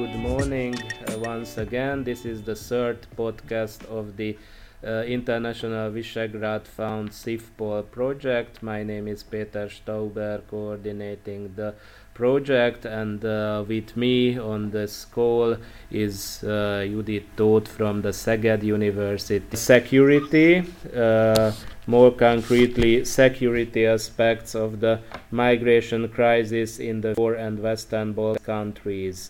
good morning once again. This is the third podcast of the International Visegrad Fund CIFPOL project. My name is Péter Stauber, coordinating the project, and with me on this call is Judit Tóth from the Szeged University. Security, more concretely, security aspects of the migration crisis in the core and Western Balkan countries.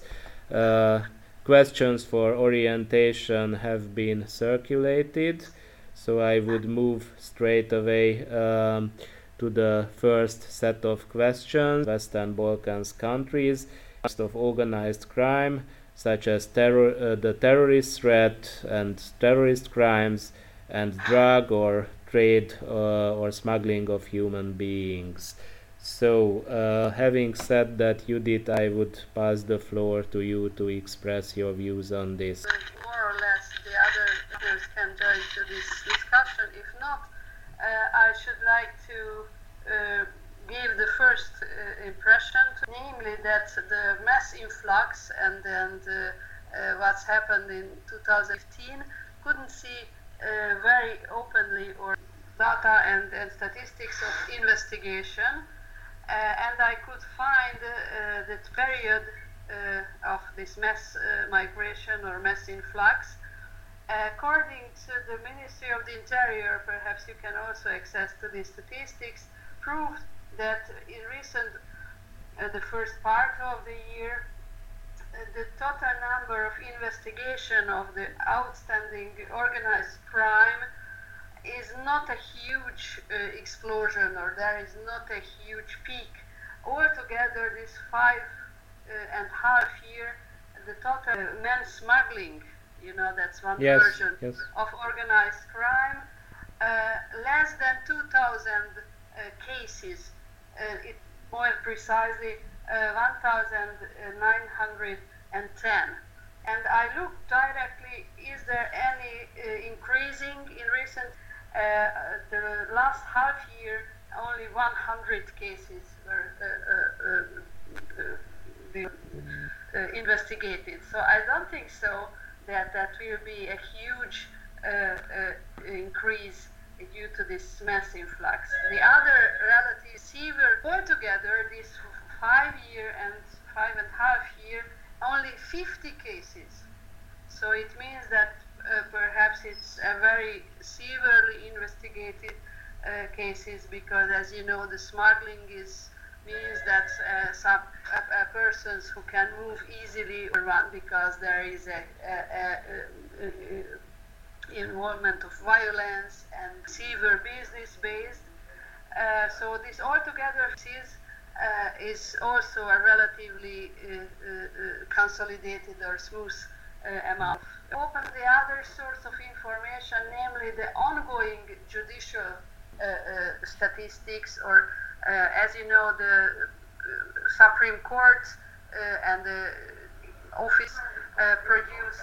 Questions for orientation have been circulated, so I would move straight away to the first set of questions. Western Balkans countries of organized crime, such as the terrorist threat and terrorist crimes, and drug or trade or smuggling of human beings. So, having said that, Judith, I would pass the floor to you to express your views on this. More or less, the others can join to this discussion. If not, I should like to give the first impression, namely that the mass influx and what's happened in 2015 couldn't see very openly or data and statistics of investigation. And I could find the period of this mass migration or mass influx. According to the Ministry of the Interior, perhaps you can also access to these statistics, proved that in the first part of the year, the total number of investigation of the outstanding organized crime is not a huge explosion, or there is not a huge peak. Altogether, this 5.5 year, the total men smuggling, that's one version of organized crime, less than 2,000 cases, more precisely 1,910. And I looked directly, is there any increasing in recent the last half year? Only 100 cases were investigated. So I don't think so that will be a huge increase due to this mass influx. The other relative severe, altogether this 5 year and 5.5 year, only 50 cases. So it means that perhaps it's a very severely investigated cases, because, as you know, the smuggling means that some persons who can move easily around, because there is a involvement of violence and severe business based. So this altogether is also a relatively consolidated or smooth amount. Open the other source of information, namely the ongoing judicial statistics, or as you know, the Supreme Court and the office produce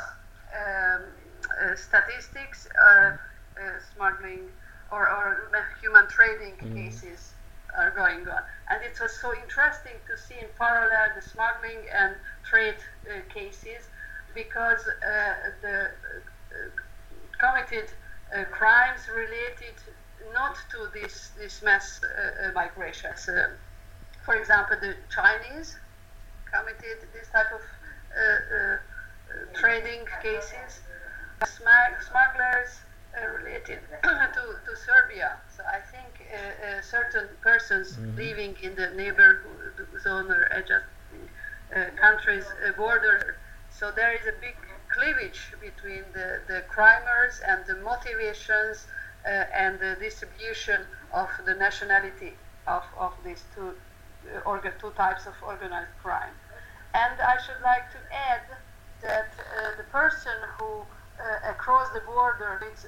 statistics, smuggling or human trading cases are going on. And it was so interesting to see in parallel the smuggling and trade cases, because the committed crimes related not to this mass migration. For example, the Chinese committed this type of trading cases. Smugglers related to Serbia. So I think certain persons living in the neighborhood zone or adjacent countries' border. So there is a big cleavage between the crimers and the motivations and the distribution of the nationality of these two types of organized crime. And I should like to add that the person who across the border, it's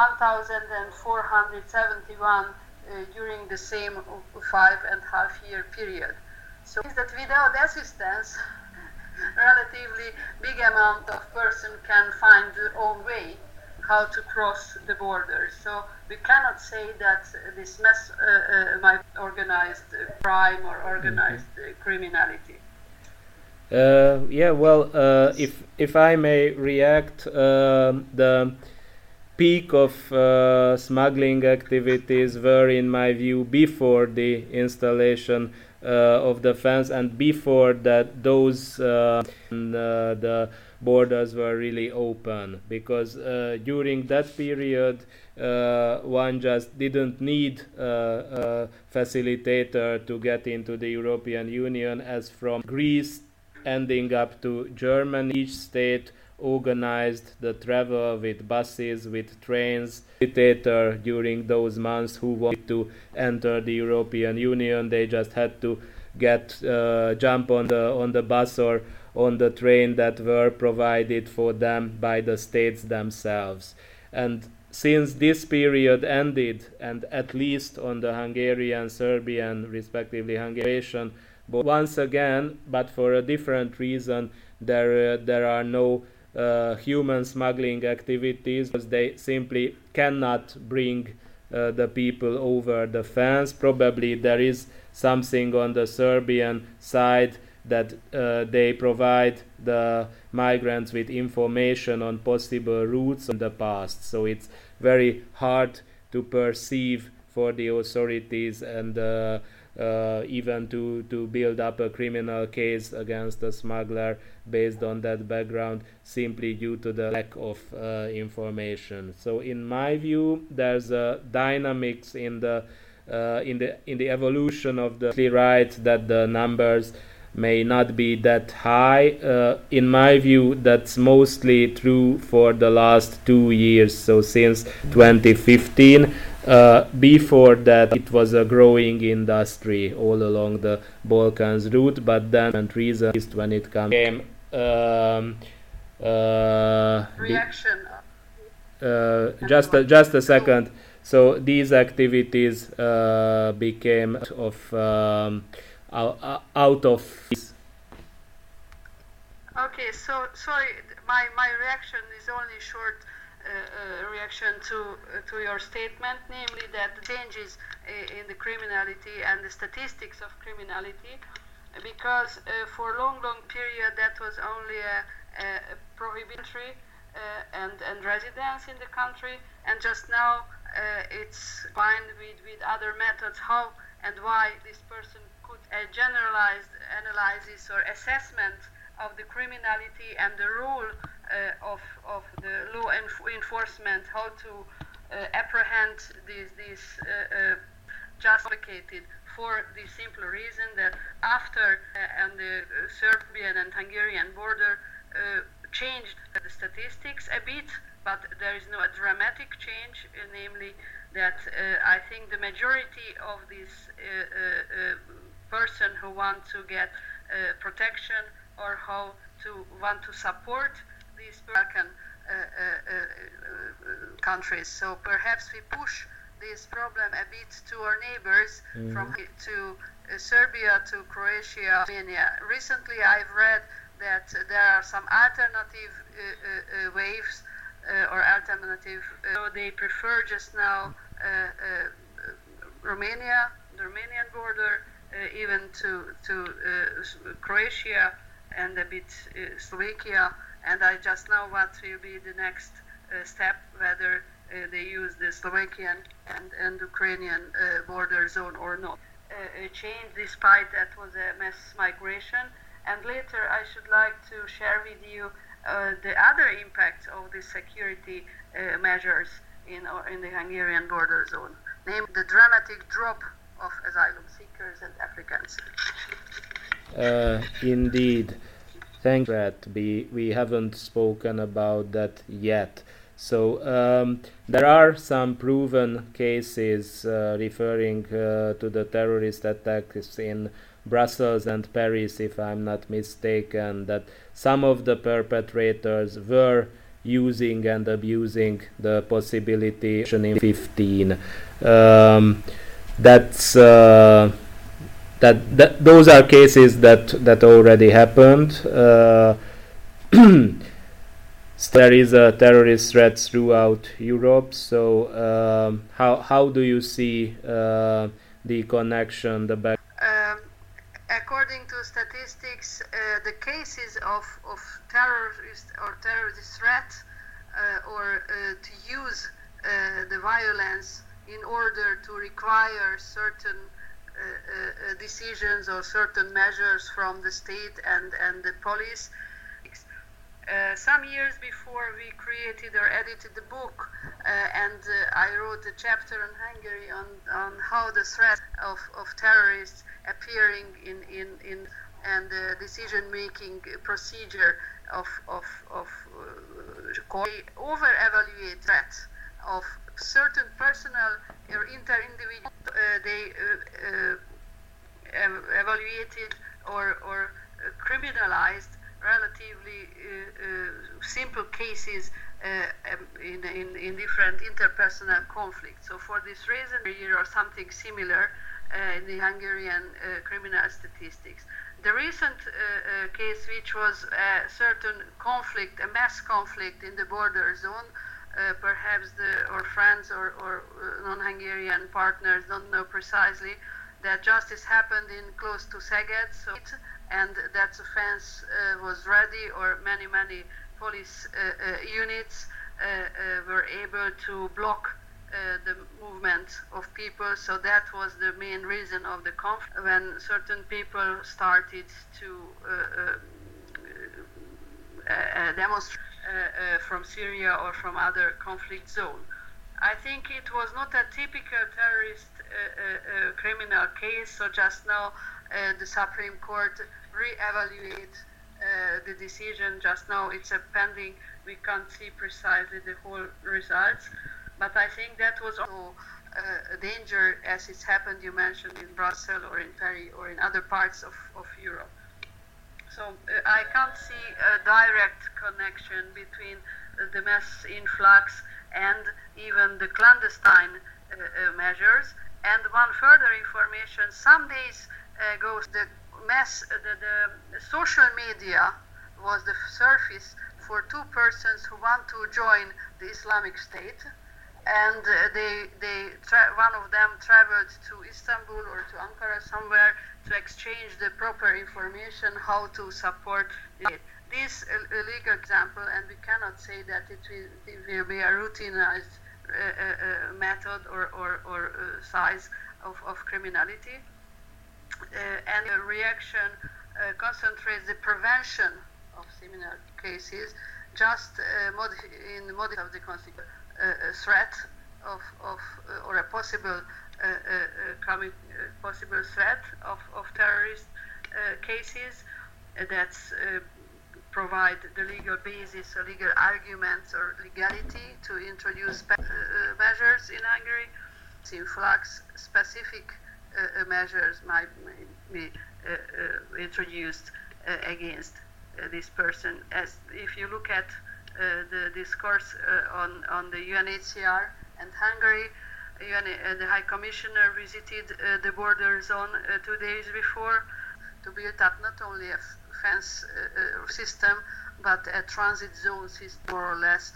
1,471 during the same 5.5 year period. So means that without assistance, relatively big amount of person can find their own way how to cross the border. So we cannot say that this mass organized crime or organized criminality. If I may react, the peak of smuggling activities were, in my view, before the installation of the fence, and before that those the borders were really open, because during that period one just didn't need a facilitator to get into the European Union, as from Greece ending up to Germany, each state organized the travel with buses, with trains. Facilitator during those months who wanted to enter the European Union, they just had to jump on the bus or on the train that were provided for them by the states themselves. And since this period ended, and at least on the Hungarian, Serbian, respectively Hungarian, but once again, but for a different reason, there are no human smuggling activities, because they simply cannot bring the people over the fence. Probably there is something on the Serbian side that they provide the migrants with information on possible routes in the past. So it's very hard to perceive for the authorities, and even to build up a criminal case against a smuggler based on that background, simply due to the lack of information. So in my view, there's a dynamics in the evolution of the right that the numbers may not be that high. In my view, that's mostly true for the last 2 years, so since 2015. Before that, it was a growing industry all along the Balkans route, but then reason is when it came reaction. Just a second. So these activities became out of. Okay, so sorry, my reaction is only short. Reaction to your statement, namely that the changes in the criminality and the statistics of criminality, because for a long period that was only a prohibitory and residence in the country, and just now it's combined with other methods how and why this person could generalized analysis or assessment of the criminality and the role of the law enforcement, how to apprehend these just complicated, for the simple reason that after on the Serbian and Hungarian border changed the statistics a bit, but there is no dramatic change, namely that I think the majority of these person who want to get protection or how to want to support these Balkan countries. So perhaps we push this problem a bit to our neighbors, from to Serbia to Croatia, Armenia. Recently I've read that there are some alternative waves or alternative, so they prefer just now Romania, the Romanian border, even to Croatia and a bit Slovakia, and I just know what will be the next step, whether they use the Slovakian and Ukrainian border zone or not. Change, despite that was a mass migration. And later I should like to share with you the other impact of the security measures in the Hungarian border zone, namely the dramatic drop of asylum seekers and applicants. Indeed. Thank you. We haven't spoken about that yet. So there are some proven cases referring to the terrorist attacks in Brussels and Paris, if I'm not mistaken, that some of the perpetrators were using and abusing the possibility in 15. Those are cases that already happened. There is a terrorist threat throughout Europe. So how do you see the connection, the back? according to statistics, the cases of terrorist or terrorist threat or to use the violence in order to require certain decisions or certain measures from the state and the police. Some years before we created or edited the book, and I wrote a chapter on Hungary on how the threat of terrorists appearing in and the decision-making procedure of over-evaluate threat of certain personal or inter-individual. They evaluated or criminalized relatively simple cases in different interpersonal conflicts. So for this reason, or something similar in the Hungarian criminal statistics. The recent case, which was a certain conflict, a mass conflict in the border zone, perhaps our friends or non-Hungarian partners don't know precisely that justice happened in close to Szeged, and that the fence was ready, or many police units were able to block the movement of people. So that was the main reason of the conflict, when certain people started to demonstrate from Syria or from other conflict zone. I think it was not a typical terrorist criminal case, so just now the Supreme Court re-evaluate the decision. Just now it's a pending, we can't see precisely the whole results, but I think that was also a danger as it's happened, you mentioned, in Brussels or in Paris or in other parts of Europe. So I can't see a direct connection between the mass influx and even the clandestine measures. And one further information, some days ago, the social media was the surface for two persons who want to join the Islamic State, and one of them traveled to Istanbul or to Ankara somewhere to exchange the proper information how to support it. This legal example, and we cannot say that it will be a routinized method or size of criminality. And the reaction concentrates the prevention of similar cases, just in the model of the constitution, threat of or a possible possible threat of terrorist cases that provide the legal basis or legal arguments or legality to introduce measures in Hungary. Influx specific measures might be introduced against this person. As if you look at the discourse on the UNHCR and Hungary, the High Commissioner visited the border zone 2 days before to build up not only a fence system but a transit zone system, more or less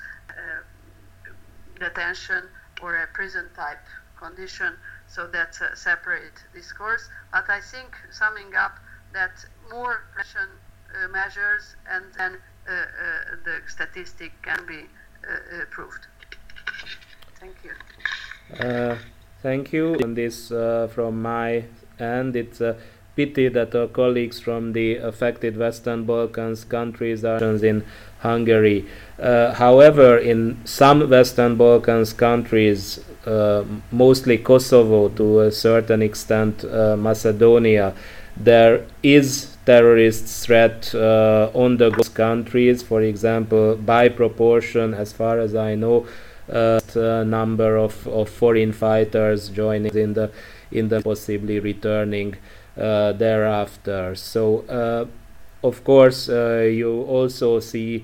detention or a prison type condition. So that's a separate discourse. But I think, summing up, that more repression measures and then the statistic can be proved. Thank you. Thank you. On this, from my end, it's a pity that our colleagues from the affected Western Balkans countries are in Hungary. However, in some Western Balkans countries, mostly Kosovo, to a certain extent Macedonia, there is terrorist threat on the countries. For example, by proportion, as far as I know, number of foreign fighters joining in the possibly returning thereafter. So of course you also see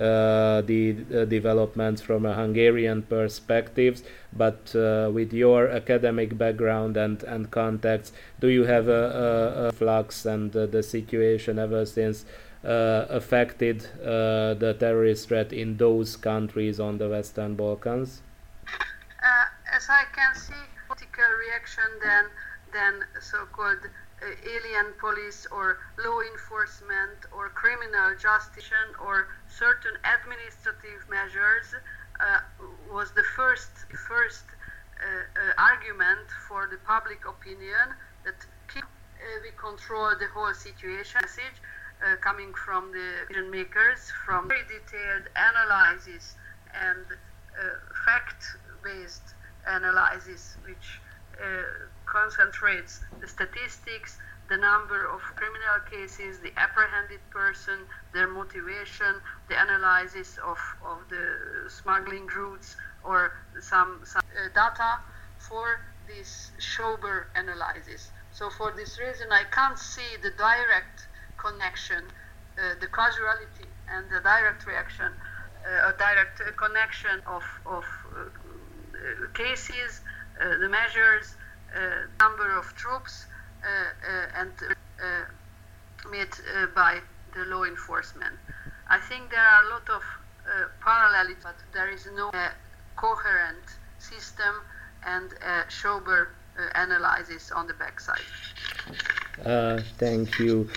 the developments from a Hungarian perspective, but with your academic background and contacts, do you have a flux and the situation ever since affected the terrorist threat in those countries on the Western Balkans? As I can see, political reaction then so-called alien police or law enforcement or criminal justice or certain administrative measures was the first argument for the public opinion that we control the whole situation. Message coming from the decision makers, from very detailed analysis and fact-based analysis, which concentrates the statistics, the number of criminal cases, the apprehended person, their motivation, the analysis of the smuggling routes, or some data for this sober analysis. So for this reason, I can't see the direct connection, the causality and the direct reaction, a direct connection of cases, the measures, number of troops, and made by the law enforcement. I think there are a lot of parallels, but there is no coherent system and sober analysis on the backside. Thank you.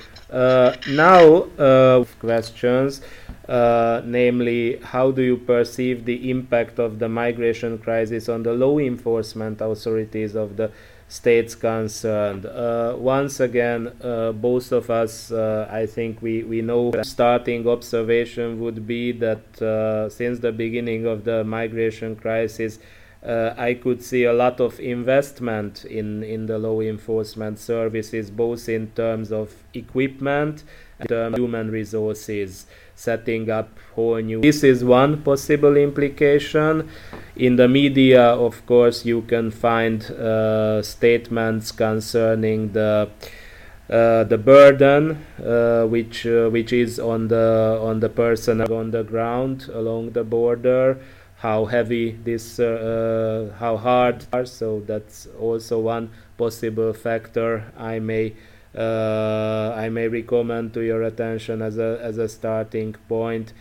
Now, questions, namely, how do you perceive the impact of the migration crisis on the law enforcement authorities of the states concerned? Once again, both of us, I think we know that starting observation would be that since the beginning of the migration crisis, I could see a lot of investment in the law enforcement services, both in terms of equipment and in terms of human resources, setting up whole new. This is one possible implication. In the media, of course, you can find statements concerning the burden which is on the person on the ground along the border, how heavy this, how hard. So that's also one possible factor I may recommend to your attention as a starting point.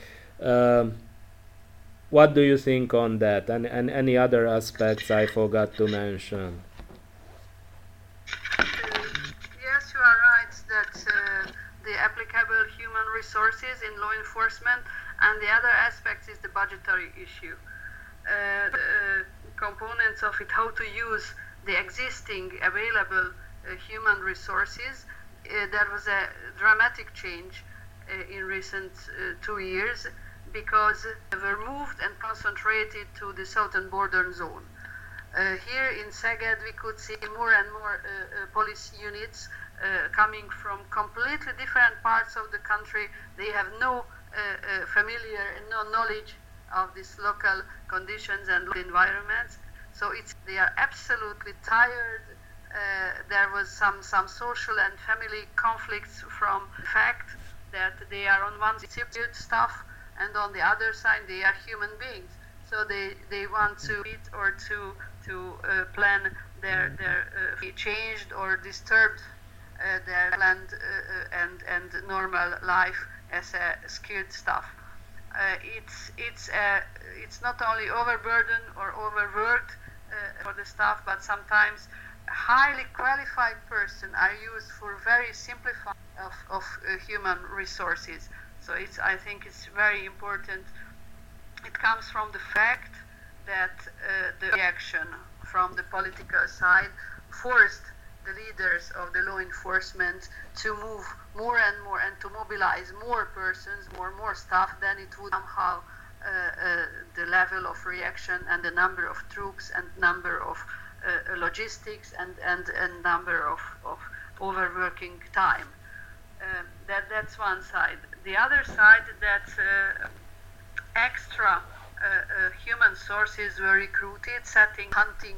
What do you think on that, and any other aspects I forgot to mention? Yes, you are right that the applicable human resources in law enforcement, and the other aspect is the budgetary issue. The components of it, how to use the existing available human resources. There was a dramatic change in recent 2 years, because they were moved and concentrated to the southern border zone. Here in Szeged, we could see more and more police units coming from completely different parts of the country. They have no knowledge of these local conditions and environments. So they are absolutely tired. There was some social and family conflicts from the fact that they are on one side stuff, and on the other side they are human beings. So they want to eat or to plan their changed or disturbed their planned and normal life as a skilled staff. It's not only overburdened or overworked for the staff, but sometimes highly qualified persons are used for very simplified of human resources. So I think it's very important. It comes from the fact that the reaction from the political side forced the leaders of the law enforcement to move more and more and to mobilize more persons, more staff, than it would somehow the level of reaction and the number of troops and number of logistics and number of overworking time. That's one side. The other side, that extra human sources were recruited, hunting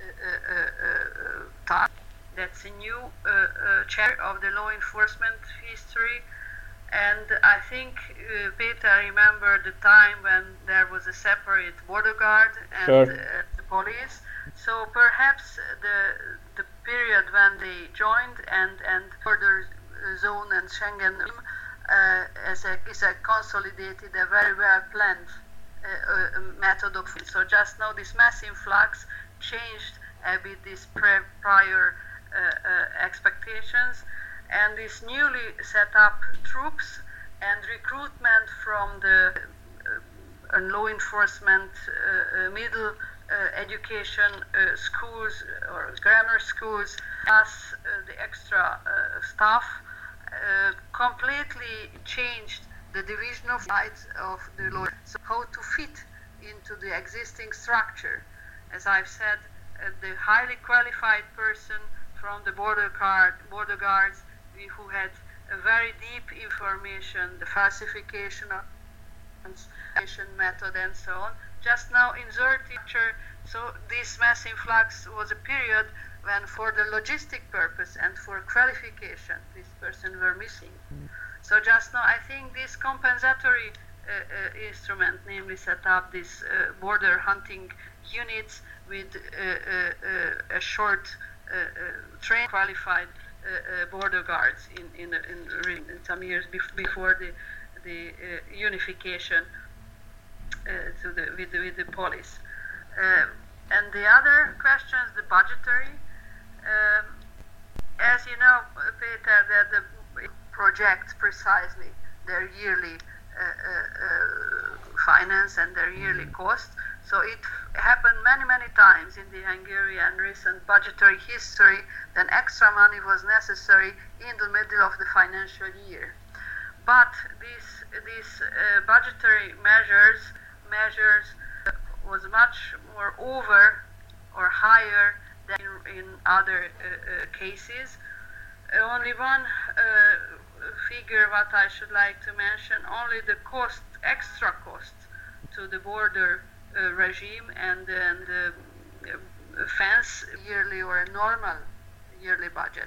tasks. That's a new chair of the law enforcement history. And I think Peter remembered the time when there was a separate border guard and sure. The police. So perhaps the period when they joined and border zone and Schengen is a consolidated, a very well planned method of it. So just now this mass influx changed a bit this prior expectations, and these newly set up troops and recruitment from the law enforcement middle education schools or grammar schools, plus the extra staff, completely changed the division of rights of the law. So how to fit into the existing structure. As I've said, the highly qualified person from the border guards who had a very deep information, the falsification of method and so on, just now inserted. So this mass influx was a period when for the logistic purpose and for qualification this person were missing. So just now I think this compensatory instrument, namely set up these border hunting units with a short trained qualified border guards in some years before the unification with the police. And the other questions, the budgetary. As you know, Peter, that the projects precisely their yearly finance and their yearly cost. So it happened many times in the Hungarian recent budgetary history that extra money was necessary in the middle of the financial year. But these budgetary measures was much more over or higher than in other cases. Only one figure what I should like to mention, only the extra cost to the border regime and the fence yearly or a normal yearly budget.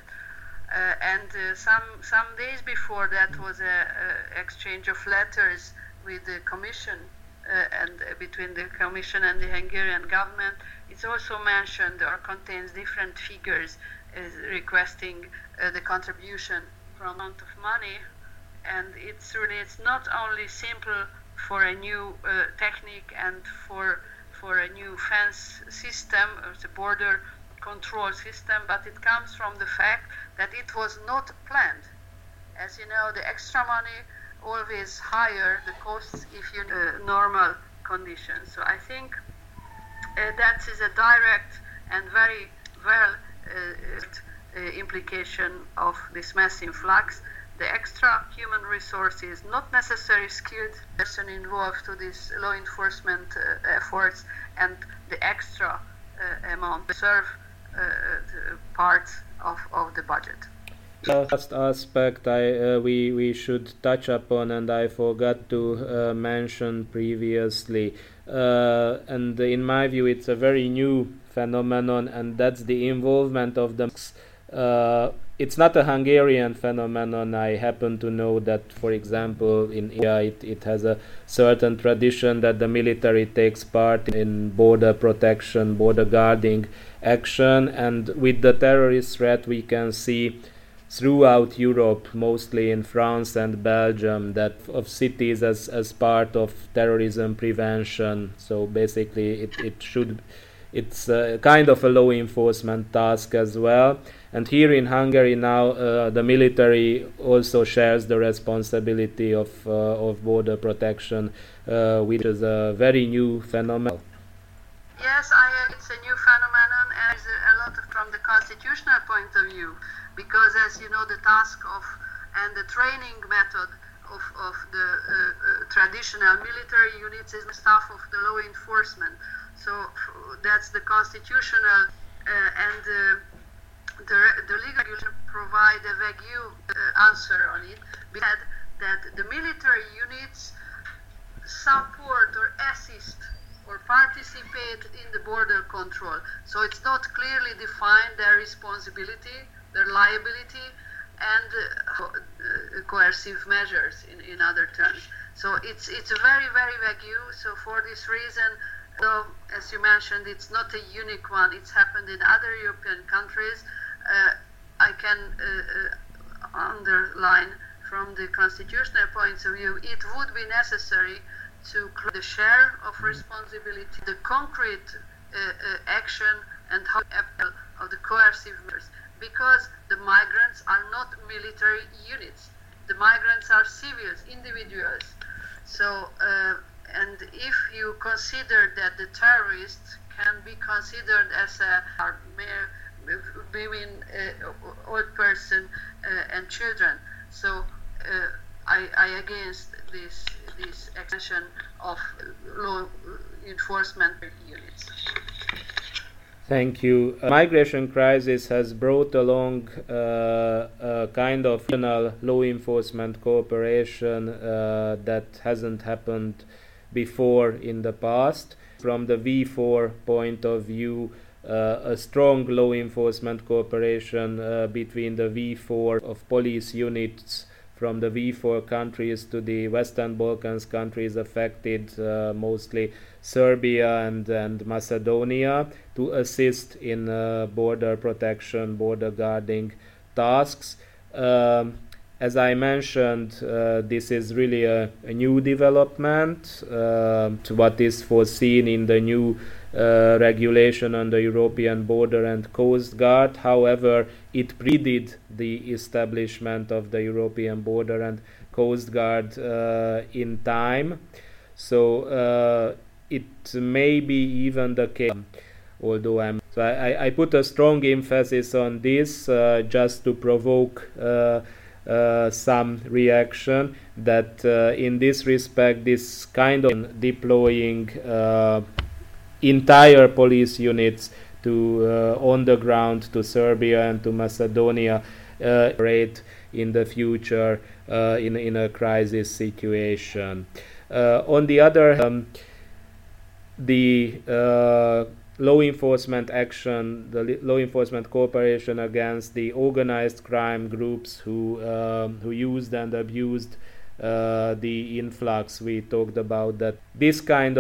Some days before that was a exchange of letters with the Commission and between the Commission and the Hungarian government. It's also mentioned or contains different figures requesting the contribution from amount of money, and it's not only simple for a new technique and for a new fence system or the border control system, but it comes from the fact that it was not planned. As you know, the extra money always higher the costs if you normal conditions. So I think that is a direct and very well implication of this mass influx. The extra human resources, not necessarily skilled person involved to these law enforcement efforts, and the extra amount serve part of the budget. Last aspect we should touch upon, and I forgot to mention previously, and in my view it's a very new phenomenon, and that's the involvement of the it's not a Hungarian phenomenon. I happen to know that, for example, in India it has a certain tradition that the military takes part in border protection, border guarding action, and with the terrorist threat we can see throughout Europe, mostly in France and Belgium, that of cities as part of terrorism prevention. So basically it's a kind of a law enforcement task as well. And here in Hungary now the military also shares the responsibility of border protection, which is a very new phenomenon. Yes, it's a new phenomenon, and it's a lot from the constitutional point of view, because as you know, the task of and the training method of the traditional military units is the staff of the law enforcement. So that's the constitutional and the legal regulation provide a vague answer on it. We said that the military units support or assist or participate in the border control. So it's not clearly defined their responsibility, their liability, and coercive measures in other terms. So it's a very vague. So for this reason, though, as you mentioned, it's not a unique one. It's happened in other European countries. I can underline from the constitutional point of view, it would be necessary to clear the share of responsibility, the concrete action, and how of the coercive measures. because the migrants are not military units. The migrants are civils, individuals. So, and if you consider that the terrorists can be considered as mere women, old person, and children, so I against this extension of law enforcement units. Thank you. Migration crisis has brought along a kind of regional law enforcement cooperation that hasn't happened before in the past. From the V4 point of view, a strong law enforcement cooperation between the V4 of police units from the V4 countries to the Western Balkans countries affected, mostly Serbia and Macedonia, to assist in border protection, border guarding tasks. As I mentioned, this is really a new development to what is foreseen in the new regulation on the European Border and Coast Guard. However, it preceded the establishment of the European Border and Coast Guard in time. So it may be even the case, although I put a strong emphasis on this just to provoke some reaction, that in this respect this kind of deploying entire police units to on the ground to Serbia and to Macedonia operate in the future in a crisis situation. On the other hand, the law enforcement action, the law enforcement cooperation against the organized crime groups who used and abused the influx, we talked about that. This kind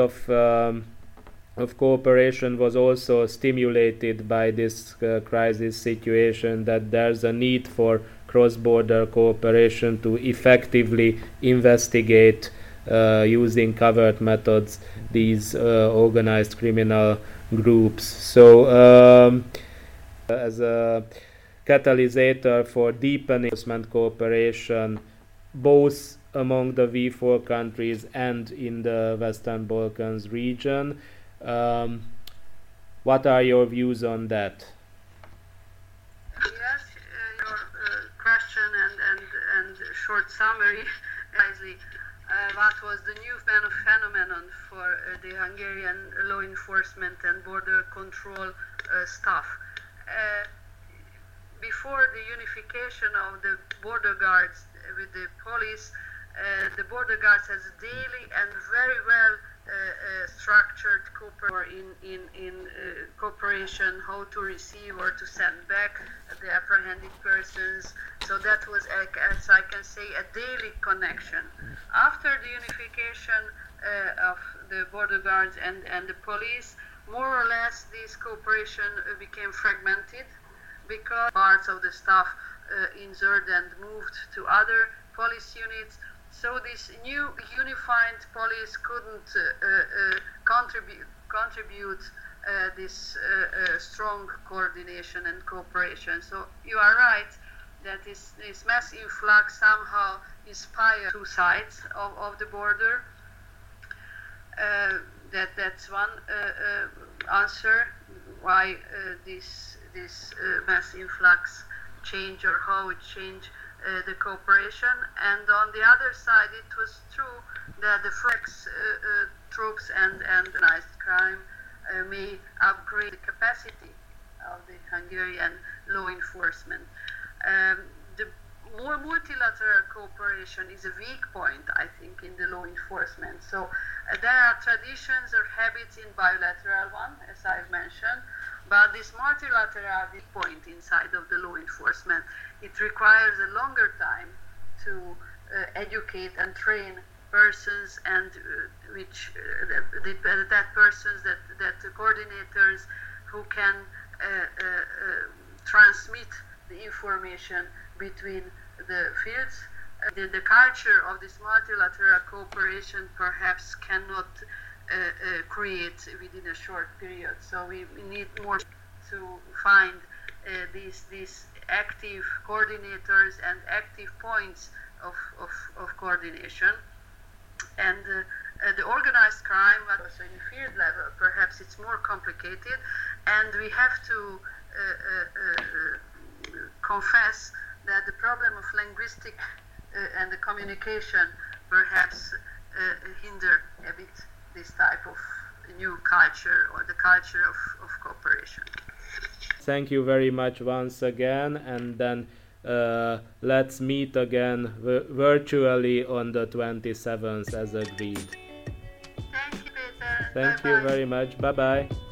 of cooperation was also stimulated by this crisis situation, that there's a need for cross-border cooperation to effectively investigate using covert methods these organized criminal groups. So as a catalyst for deepening enforcement cooperation both among the V4 countries and in the Western Balkans region, what are your views on that? Yes, your question and short summary wisely. What was the new phenomenon for the Hungarian law enforcement and border control staff? Before the unification of the border guards with the police, the border guards has daily and very well structured cooperation, how to receive or to send back the apprehended persons. So that was, as I can say, a daily connection. After the unification of the border guards and the police, more or less this cooperation became fragmented, because parts of the staff injured and moved to other police units. So this new unified police couldn't contribute this strong coordination and cooperation. So you are right that this mass influx somehow inspired two sides of the border. That's one answer why this mass influx changed, or how it changed the cooperation. And on the other side, it was true that the Frontex troops and organized crime may upgrade the capacity of the Hungarian law enforcement. The more multilateral cooperation is a weak point, I think, in the law enforcement. So there are traditions or habits in bilateral one, as I've mentioned, but this multilateral point inside of the law enforcement, it requires a longer time to educate and train persons, and that persons, that coordinators who can transmit the information between the fields. The culture of this multilateral cooperation perhaps cannot create within a short period. So we need more to find these active coordinators and active points of coordination. And the organized crime, also in field level, perhaps it's more complicated, and we have to confess that the problem of linguistic and the communication perhaps hinder a bit this type of new culture or the culture of cooperation. Thank you very much once again, and then let's meet again virtually on the 27th as agreed. Thank you, Peter. Thank you very much. Bye-bye.